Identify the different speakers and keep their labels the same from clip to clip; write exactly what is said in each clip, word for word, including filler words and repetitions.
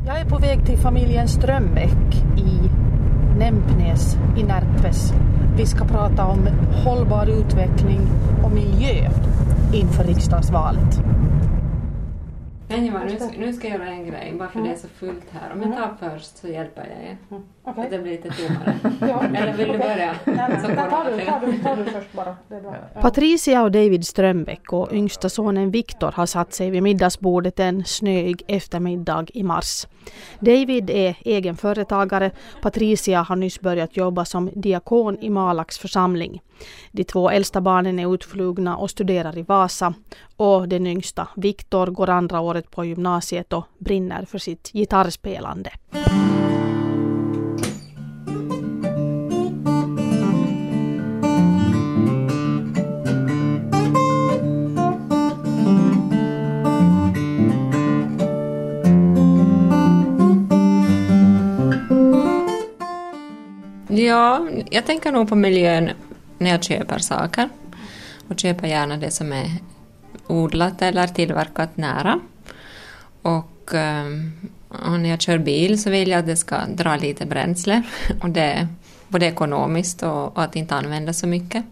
Speaker 1: Jag är på väg till familjen Strömbäck i Nempnäs i Närpes. Vi ska prata om hållbar utveckling och miljö inför riksdagsvalet.
Speaker 2: Men nu, ska, nu ska jag göra en grej, bara för mm. det är så fullt här. Om jag tar först så hjälper jag er. Mm. Okay. Att det blir lite tommare. Ja. Eller vill du börja?
Speaker 1: Nej, så tar, du, tar, du, tar du först bara. Det är bra. Ja.
Speaker 3: Patricia och David Strömbäck och yngsta sonen Viktor har satt sig vid middagsbordet en snöig eftermiddag i mars. David är egen företagare. Patricia har nyss börjat jobba som diakon i Malax församling. De två äldsta barnen är utflugna och studerar i Vasa. Och den yngsta, Viktor, går andra året på gymnasiet och brinner för sitt gitarrspelande.
Speaker 2: Ja, jag tänker nog på miljön när jag köper saker. Och köper gärna det som är odlat eller tillverkat nära. Och, och när jag kör bil så vill jag att det ska dra lite bränsle. Och det är både ekonomiskt och, och att inte använda så mycket.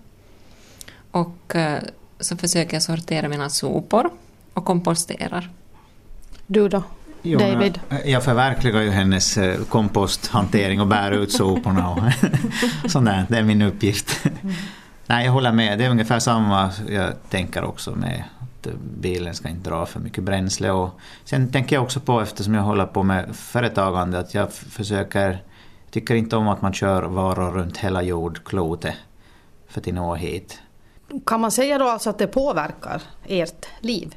Speaker 2: Och så försöker jag sortera mina sopor och komposterar.
Speaker 3: Du då?
Speaker 4: Jo,
Speaker 3: David?
Speaker 4: Jag förverkligar ju hennes komposthantering och bär ut soporna och sånt där. Det är min uppgift. Mm. Nej, jag håller med. Det är ungefär samma jag tänker också med att bilen ska inte dra för mycket bränsle. Och sen tänker jag också på, eftersom jag håller på med företagande, att jag försöker, tycker inte om att man kör varor runt hela jordklotet för att nå hit.
Speaker 1: Kan man säga då alltså att det påverkar ert liv?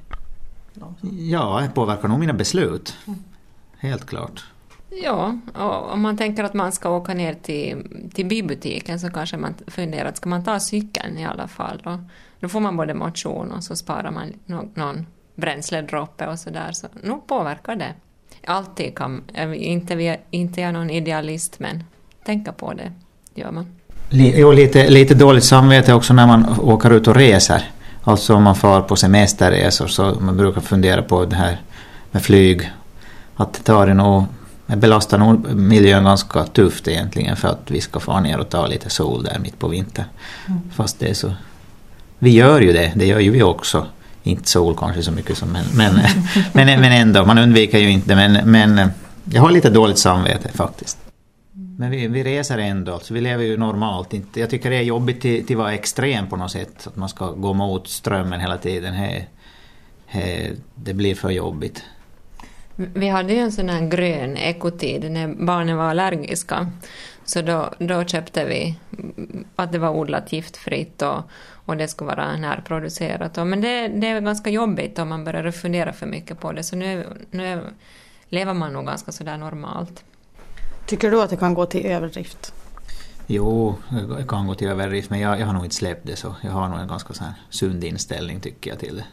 Speaker 4: Ja, det påverkar nog mina beslut. Helt klart.
Speaker 2: Ja, och om man tänker att man ska åka ner till, till bybutiken så kanske man funderar att ska man ta cykeln i alla fall. Då, då får man både motion och så sparar man någon, någon bränsledroppe och sådär. Så nu påverkar det. Alltid kan, inte, inte jag är någon idealist, men tänka på det gör man.
Speaker 4: Jo, lite, lite dåligt samvete också när man åker ut och reser. Alltså om man far på semesterresor så man brukar fundera på det här med flyg. Att det tar det nog, belastar nog miljön ganska tufft egentligen för att vi ska få ner och ta lite sol där mitt på vintern. Mm. Fast det är så. Vi gör ju det, det gör ju vi också. Inte sol kanske så mycket som men, men, men, men ändå, man undviker ju inte. Men, men jag har lite dåligt samvete faktiskt. Men vi, vi reser ändå, alltså vi lever ju normalt. Inte, jag tycker det är jobbigt till, till att vara extrem på något sätt. Att man ska gå mot strömmen hela tiden. He, he, det blir för jobbigt.
Speaker 2: Vi hade ju en sån här grön ekotid när barnen var allergiska. Så då, då köpte vi att det var odlat giftfritt och, och det skulle vara närproducerat. Men det, det är ganska jobbigt om man börjar fundera för mycket på det. Så nu, nu lever man nog ganska sådär normalt.
Speaker 1: Tycker du att det kan gå till överdrift?
Speaker 4: Jo, det kan gå till överdrift, men jag, jag har nog inte släppt det så. Jag har nog en ganska så här sund inställning tycker jag till det.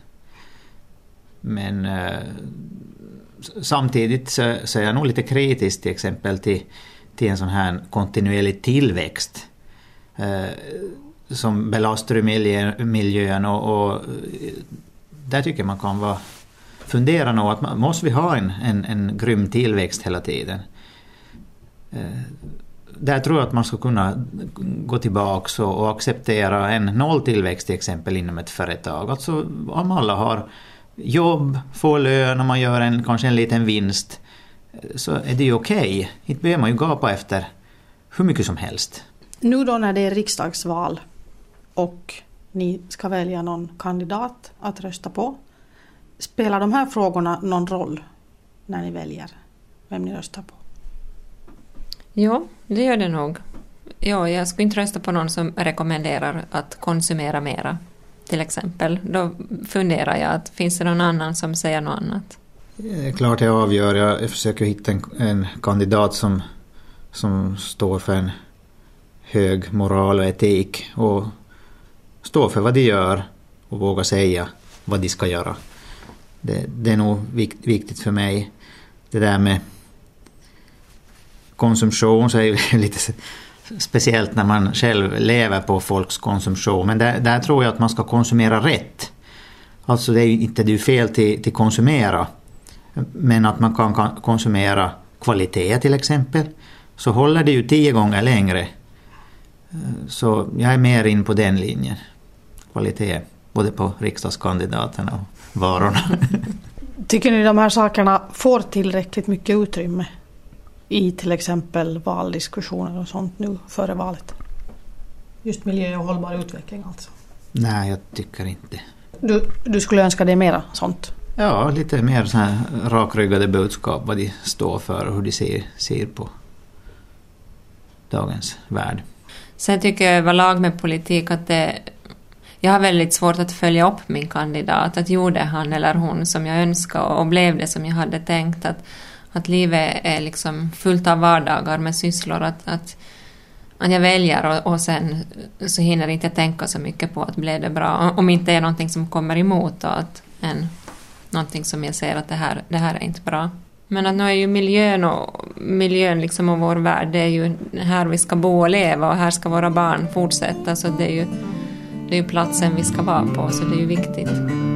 Speaker 4: Men eh, samtidigt så, så är jag nog lite kritisk till exempel till, till en sån här kontinuerlig tillväxt eh, som belastar miljö, miljön och, och där tycker jag man kan vara, fundera nog att man, måste vi ha en, en, en grym tillväxt hela tiden. Där tror jag att man ska kunna gå tillbaka och, och acceptera en nolltillväxt till exempel inom ett företag. Alltså om alla har jobb, får lön och man gör en, kanske en liten vinst så är det ju okej. Inte behöver man ju gapa efter hur mycket som helst.
Speaker 1: Nu då när det är riksdagsval och ni ska välja någon kandidat att rösta på, spelar de här frågorna någon roll när ni väljer vem ni röstar på?
Speaker 2: Ja, det gör det nog. Ja, jag skulle inte rösta på någon som rekommenderar att konsumera mera, till exempel. Då funderar jag att finns det någon annan som säger något annat?
Speaker 4: Det är klart jag avgör. Jag försöker hitta en, en kandidat som, som står för en hög moral och etik och står för vad de gör och vågar säga vad de ska göra. Det, det är nog vikt, viktigt för mig. Det där med konsumtion så är det lite speciellt när man själv lever på folks konsumtion. Men där, där tror jag att man ska konsumera rätt. Alltså det är ju inte det är fel till, till konsumera. men att man kan konsumera kvalitet till exempel, så håller det ju tio gånger längre. Så jag är mer in på den linjen. Kvalitet, både på riksdagskandidaterna och varorna.
Speaker 1: Tycker ni de här sakerna får tillräckligt mycket utrymme i till exempel valdiskussioner och sånt nu före valet? Just miljö och hållbar utveckling alltså.
Speaker 4: Nej, jag tycker inte.
Speaker 1: Du, du skulle önska dig mera sånt?
Speaker 4: Ja, lite mer så här rakryggade budskap, vad de står för och hur de ser, ser på dagens värld.
Speaker 2: Sen tycker jag överlag med politik att det, jag har väldigt svårt att följa upp min kandidat. Att gjorde han eller hon som jag önskade och blev det som jag hade tänkt. Att, att livet är liksom fullt av vardagar med sysslor. Att, att, att jag väljer och, och sen så hinner inte jag tänka så mycket på att bli det bra. Om inte är någonting som kommer emot och att en, någonting som jag ser att det här, det här är inte bra. Men att nu är ju miljön och, miljön liksom och vår värld, det är ju här vi ska bo och leva och här ska våra barn fortsätta. Så det är ju, det är ju platsen vi ska vara på, så det är ju viktigt.